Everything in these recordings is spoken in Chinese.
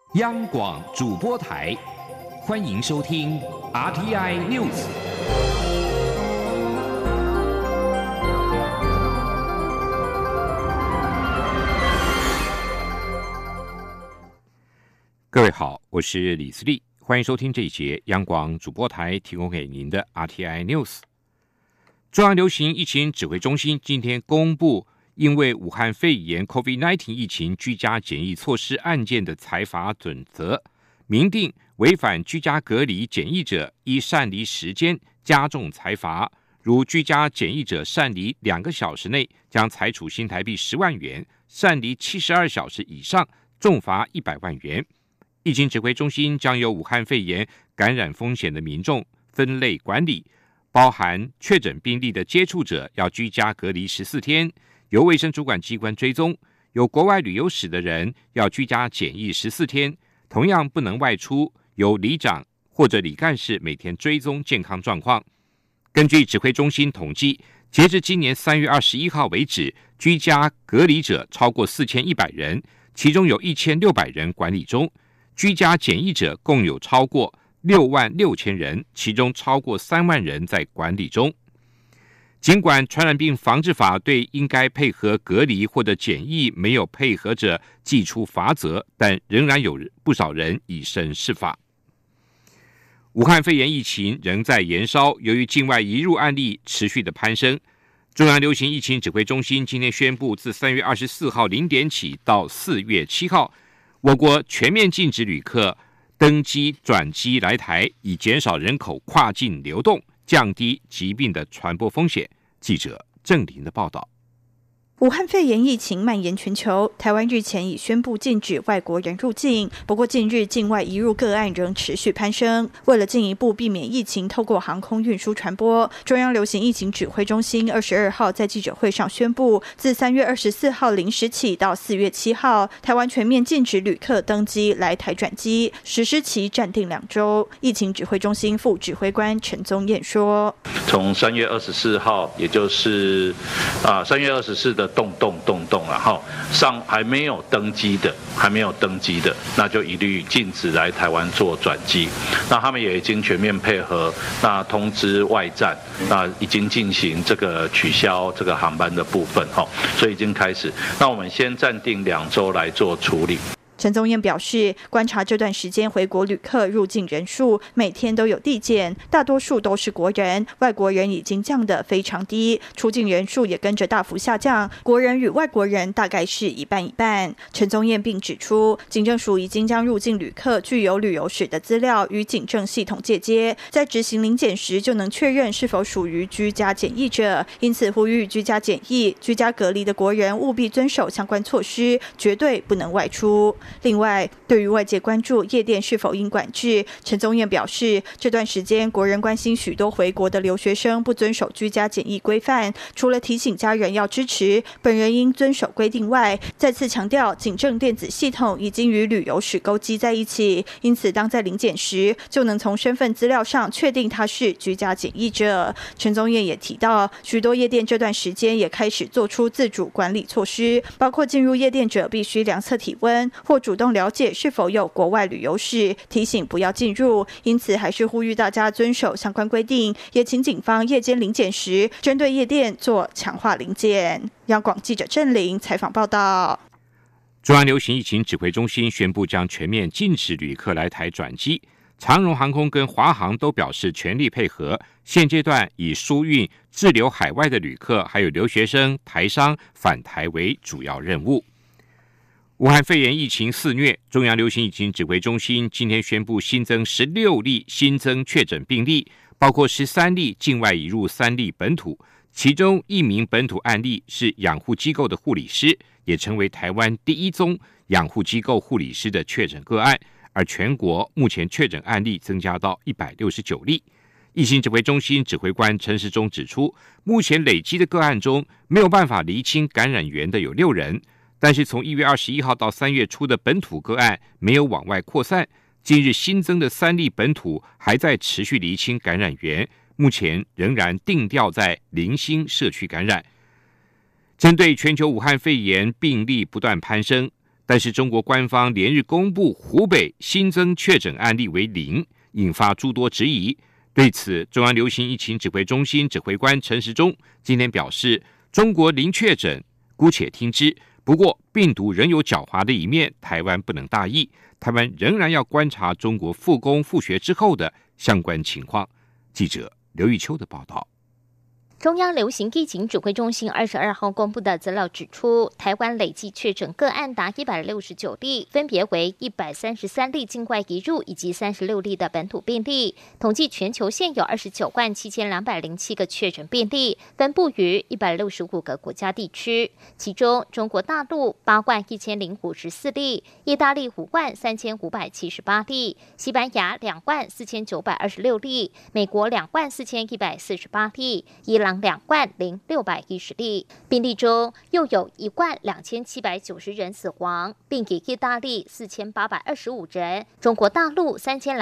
央广主播台，欢迎收听 RTI News。各位好，我是李自立，欢迎收听这一节央广主播台提供给您的 RTI News。中央流行疫情指挥中心今天公布，因为武汉肺炎 COVID-19 疫情居家检疫措施案件的裁罚准则，明定违反居家隔离检疫者依擅离时间加重裁罚，如居家检疫者擅离2个小时内将裁处新台币10万元，擅离72小时以上重罚100万元。疫情指挥中心将由武汉肺炎感染风险的民众分类管理，包含确诊病例的接触者要居家隔离14天，由卫生主管机关追踪；有国外旅游史的人要居家检疫14天，同样不能外出，由里长或者里干事每天追踪健康状况。根据指挥中心统计，截至今年3月21号为止，居家隔离者超过4100人，其中有1600人管理中；居家检疫者共有超过66000人，其中超过3万人在管理中。尽管传染病防治法对应该配合隔离或者检疫没有配合者祭出罚则，但仍然有不少人以身试法。武汉肺炎疫情仍在延烧，由于境外移入案例持续的攀升，中央流行疫情指挥中心今天宣布，自3月24号0点起到4月7号，我国全面禁止旅客登机转机来台，以减少人口跨境流动，降低疾病的传播风险。记者郑林的报道。 武汉肺炎疫情蔓延全球，台湾日前已宣布禁止外国人入境，不过近日境外移入个案仍持续攀升。为了进一步避免疫情透过航空运输传播，中央流行疫情指挥中心22号在记者会上宣布，自3月24号0时起到4月7号，台湾全面禁止旅客登机来台转机，实施期暂定2周。疫情指挥中心副指挥官陈宗彦说：“ 从3月24号，也就是3月24的动然后上还没有登机的，那就一律禁止来台湾做转机。那他们也已经全面配合，那通知外站，那已经进行这个取消这个航班的部分，所以已经开始。那我们先暂定2周来做处理。” 陈宗彦表示，观察这段时间回国旅客入境人数每天都有递减，大多数都是国人，外国人已经降得非常低，出境人数也跟着大幅下降，国人与外国人大概是一半一半。陈宗彦并指出，警政署已经将入境旅客具有旅游史的资料与警政系统借接，在执行临检时就能确认是否属于居家检疫者，因此呼吁居家检疫、居家隔离的国人务必遵守相关措施，绝对不能外出。另外，对于外界关注夜店是否应管制，陈宗彦表示，这段时间国人关心许多回国的留学生不遵守居家检疫规范，除了提醒家人要支持，本人应遵守规定外，再次强调警政电子系统已经与旅游史勾稽在一起，因此当在临检时就能从身份资料上确定他是居家检疫者。陈宗彦也提到，许多夜店这段时间也开始做出自主管理措施，包括进入夜店者必须量测体温或主动了解是否有国外旅游史，提醒不要进入，因此还是呼吁大家遵守相关规定，也请警方夜间临检时针对夜店做强化临检。央广记者郑玲采访报道。 中央流行疫情指挥中心宣布将全面禁止旅客来台转机，长荣航空跟华航都表示全力配合，现阶段以疏运滞留海外的旅客还有留学生、台商返台为主要任务。武汉肺炎疫情肆虐，中央流行疫情指挥中心今天宣布新增16例新增确诊病例，包括13例境外移入3例本土，其中1名本土案例是养护机构的护理师，也成为台湾第1宗养护机构护理师的确诊个案，而全国目前确诊案例增加到169例。疫情指挥中心指挥官陈时中指出，目前累积的个案中没有办法厘清感染源的有6人，但是从1月21号到3月初的本土个案没有往外扩散，近日新增的3例本土还在持续厘清感染源，目前仍然定调在零星社区感染。针对全球武汉肺炎病例不断攀升， 但是中国官方连日公布湖北新增确诊案例为0，引发诸多质疑。对此，中央流行疫情指挥中心指挥官陈时中今天表示，中国0确诊，姑且听之。不过，病毒仍有狡猾的一面，台湾不能大意，台湾仍然要观察中国复工复学之后的相关情况。记者刘玉秋的报道。 中央流行疫情指挥中心22号公布的资料指出，台湾累计确诊个案达169例，分别为133例境外移入以及36例的本土病例。统计全球现有297207个确诊病例，分布于165个国家地区，其中中国大陆81054例，意大利53578例，西班牙24926例，美国24148例，伊朗20610例，病例中又有12790人死亡，并以意大利4825人、中国大陆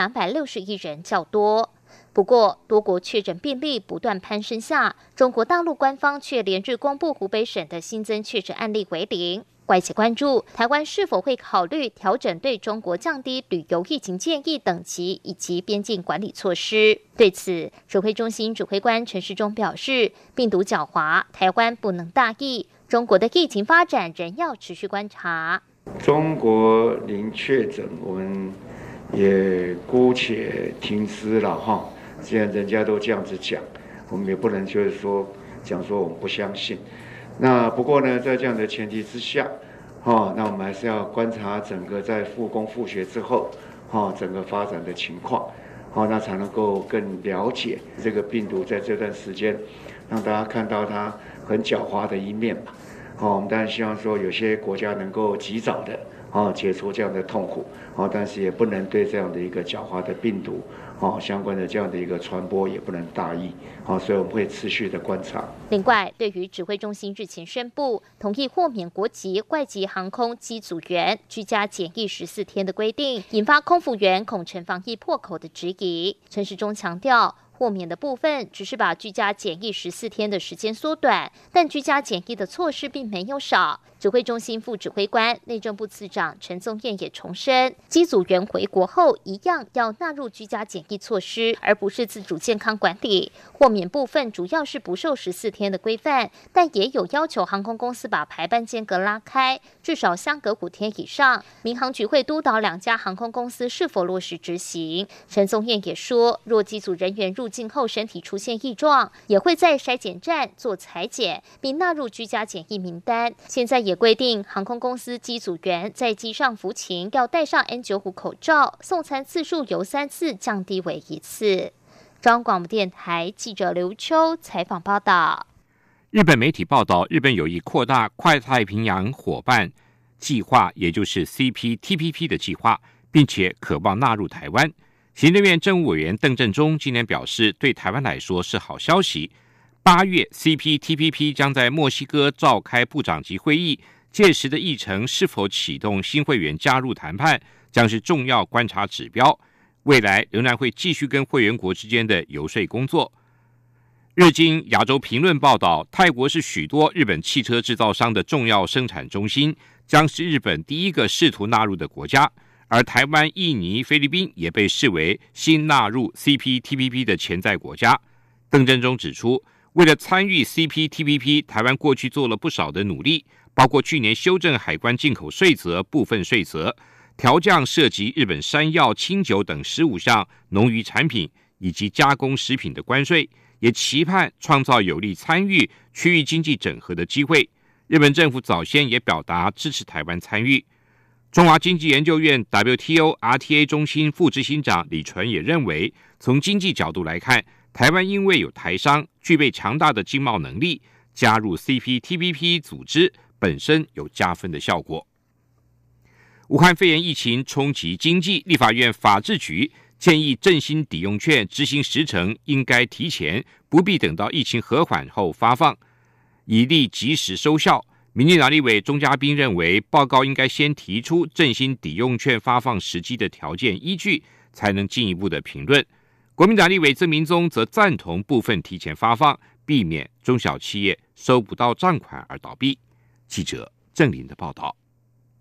3261人较多。不过，多国确诊病例不断攀升下，中国大陆官方却连日公布湖北省的新增确诊案例为0。外界关注台湾是否会考虑调整对中国降低旅游疫情建议等级以及边境管理措施。对此，指挥中心指挥官陈时中表示，病毒狡猾，台湾不能大意，中国的疫情发展仍要持续观察。 中国0确诊，我们也姑且听之了哈。既然人家都这样子讲，我们也不能就是说讲说我们不相信。那不过呢，在这样的前提之下，那我们还是要观察整个在复工复学之后，整个发展的情况，那才能够更了解这个病毒在这段时间，让大家看到它很狡猾的一面吧。我们当然希望说有些国家能够及早的解除这样的痛苦，但是也不能对这样的一个狡猾的病毒相关的这样的一个传播也不能大意，所以我们会持续的观察。 另外，对于指挥中心日前宣布同意豁免国籍外籍航空机组员居家检疫14天的规定，引发空服员恐成防疫破口的质疑。陈时中强调，豁免的部分只是把居家检疫14天的时间缩短，但居家检疫的措施并没有少。指挥中心副指挥官、内政部次长陈宗彦也重申，机组员回国后一样要纳入居家检疫措施，而不是自主健康管理。豁免部分主要是不受14天的规范，但也有要求航空公司把排班间隔拉开，至少相隔5天以上。民航局会督导2家航空公司是否落实执行。陈宗彦也说，若机组人员入境后身体出现异状，也会在筛检站做采检，并纳入居家检疫名单。现在也规定，航空公司机组员在机上服勤要戴上 N95 口罩，送餐次数由3次降低为1次。中央广播电台记者刘秋采访报道。 日本媒体报道，日本有意扩大跨太平洋伙伴计划，也就是 CPTPP 的计划，并且渴望纳入台湾。行政院政务委员邓正中今天表示，对台湾来说是好消息。8月 CPTPP 将在墨西哥召开部长级会议，届时的议程是否启动新会员加入谈判，将是重要观察指标。未来仍然会继续跟会员国之间的游说工作。日经亚洲评论报道，泰国是许多日本汽车制造商的重要生产中心，将是日本第一个试图纳入的国家。而台湾、印尼、菲律宾也被视为新纳入 CPTPP 的潜在国家。邓正中指出，为了参与 CPTPP， 台湾过去做了不少的努力，包括去年修正海关进口税则部分税则，调降涉及日本山药、清酒等15项农渔产品以及加工食品的关税，也期盼创造有利参与区域经济整合的机会。日本政府早先也表达支持台湾参与。中华经济研究院 WTO RTA 中心副执行长李纯也认为，从经济角度来看，台湾因为有台商具备强大的经贸能力，加入 CPTPP 组织本身有加分的效果。武汉肺炎疫情冲击经济，立法院法制局建议振兴抵用券执行时程应该提前，不必等到疫情和缓后发放，以利及时收效。民进党立委钟嘉宾认为，报告应该先提出振兴抵用券发放时机的条件依据，才能进一步的评论。国民党立委曾明宗则赞同部分提前发放，避免中小企业收不到账款而倒闭。记者郑林的报道。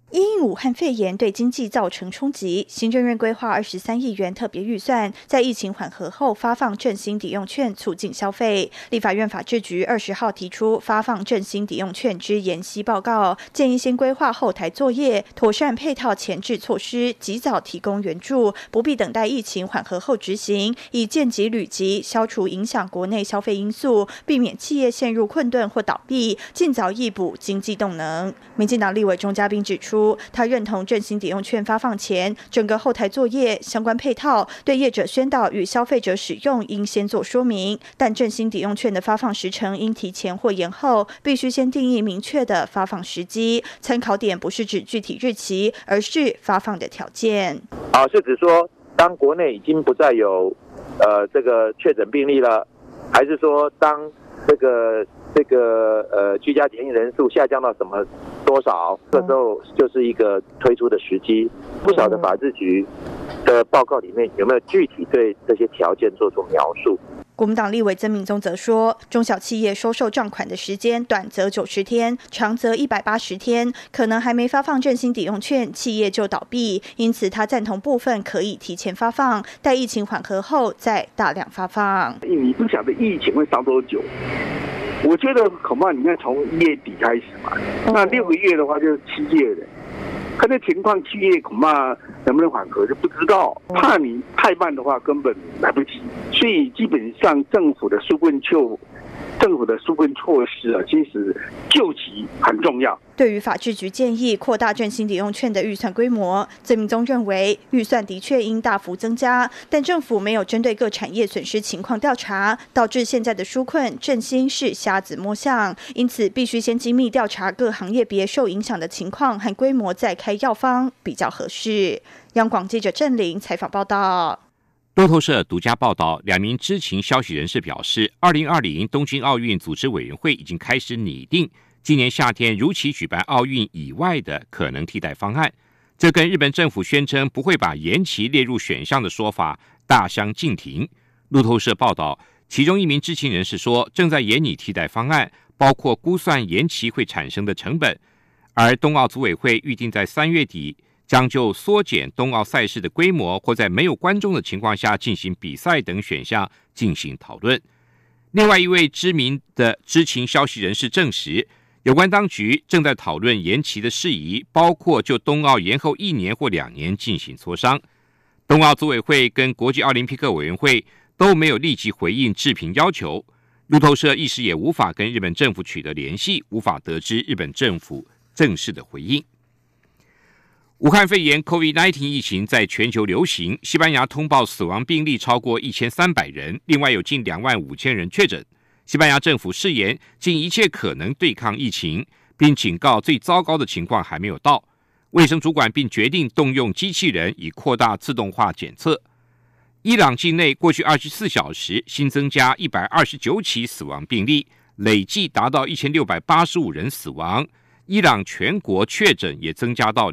因武汉肺炎对经济造成冲击，行政院规划23亿元特别预算，在疫情缓和后发放振兴抵用券，促进消费。立法院法制局20号提出发放振兴抵用券之研析报告，建议先规划后台作业，妥善配套前置措施，及早提供援助，不必等待疫情缓和后执行，以见及履及，消除影响国内消费因素，避免企业陷入困顿或倒闭，尽早挹补经济动能。民进党立委钟嘉宾指出，他认同振兴抵用券发放前，整个后台作业相关配套对业者宣导与消费者使用应先做说明，但振兴抵用券的发放时程应提前或延后，必须先定义明确的发放时机，参考点不是指具体日期，而是发放的条件。 是指说当国内已经不再有这个确诊病例了，还是说当这个居家检疫人数下降到什么多少，这时候就是一个推出的时机。不少的法制局的报告里面有没有具体对这些条件做出描述？ 国民党立委曾铭宗则说，中小企业收受账款的时间短则90天，长则180天，可能还没发放振兴抵用券，企业就倒闭。因此，他赞同部分可以提前发放，待疫情缓和后再大量发放。 你不晓得疫情会烧多久，我觉得恐怕你看从1月底开始嘛，那6个月的话就是7月了。看这情况，7月恐怕能不能缓和就不知道，怕你太慢的话根本来不及，所以基本上政府的纾困措施啊，其实救急很重要。 对于法制局建议扩大振兴抵用券的预算规模，曾铭宗认为预算的确应大幅增加，但政府没有针对各产业损失情况调查，导致现在的纾困振兴是瞎子摸象，因此必须先精密调查各行业别受影响的情况和规模，再开药方比较合适。央广记者郑玲采访报道。 路透社独家报道，2名知情消息人士表示，2020东京奥运组织委员会已经开始拟定今年夏天如期举办奥运以外的可能替代方案，这跟日本政府宣称不会把延期列入选项的说法大相径庭。路透社报道，其中一名知情人士说，正在研拟替代方案，包括估算延期会产生的成本，而冬奥组委会预定在3月底将就缩减冬奥赛事的规模或在没有观众的情况下进行比赛等选项进行讨论。另外一位知名的知情消息人士证实，有关当局正在讨论延期的事宜，包括就冬奥延后1年或2年进行磋商。冬奥组委会跟国际奥林匹克委员会都没有立即回应置评要求。路透社一时也无法跟日本政府取得联系，无法得知日本政府正式的回应。武汉肺炎 COVID-19 疫情在全球流行，西班牙通报死亡病例超过1300人，另外有近25000人确诊。西班牙政府誓言尽一切可能对抗疫情，并警告最糟糕的情况还没有到。卫生主管并决定动用机器人以扩大自动化检测。伊朗境内过去24小时新增加129起死亡病例，累计达到1685人死亡。伊朗全国确诊也增加到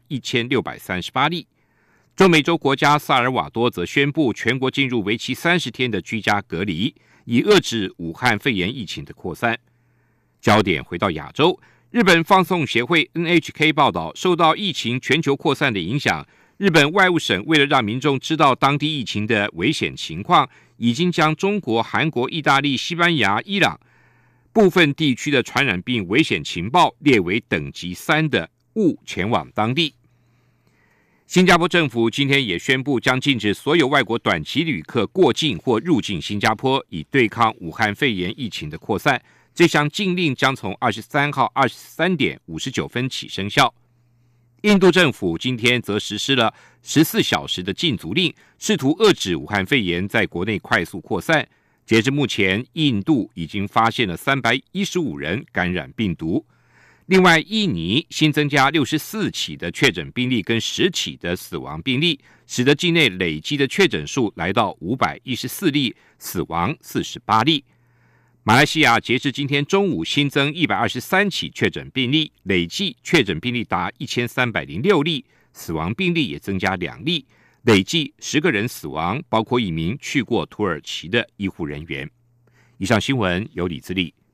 21638例。中美洲国家萨尔瓦多则宣布全国进入为期30天的居家隔离，以遏制武汉肺炎疫情的扩散。焦点回到亚洲，日本放送协会 NHK 报道，受到疫情全球扩散的影响，日本外务省为了让民众知道当地疫情的危险情况，已经将中国、韩国、意大利、西班牙、伊朗部分地区的传染病危险情报列为等级3的，勿前往当地。新加坡政府今天也宣布将禁止所有外国短期旅客过境或入境新加坡，以对抗武汉肺炎疫情的扩散。这项禁令将从23号23点59分起生效。印度政府今天则实施了14小时的禁足令，试图遏制武汉肺炎在国内快速扩散。截至目前，印度已经发现了315人感染病毒。另外，印尼新增加64起的确诊病例跟10起的死亡病例，使得境内累积的确诊数来到514例，死亡48例。马来西亚截至今天中午新增123起确诊病例，累计确诊病例达1306例，死亡病例也增加2例，累计10个人死亡，包括1名去过土耳其的医护人员。以上新闻由李自力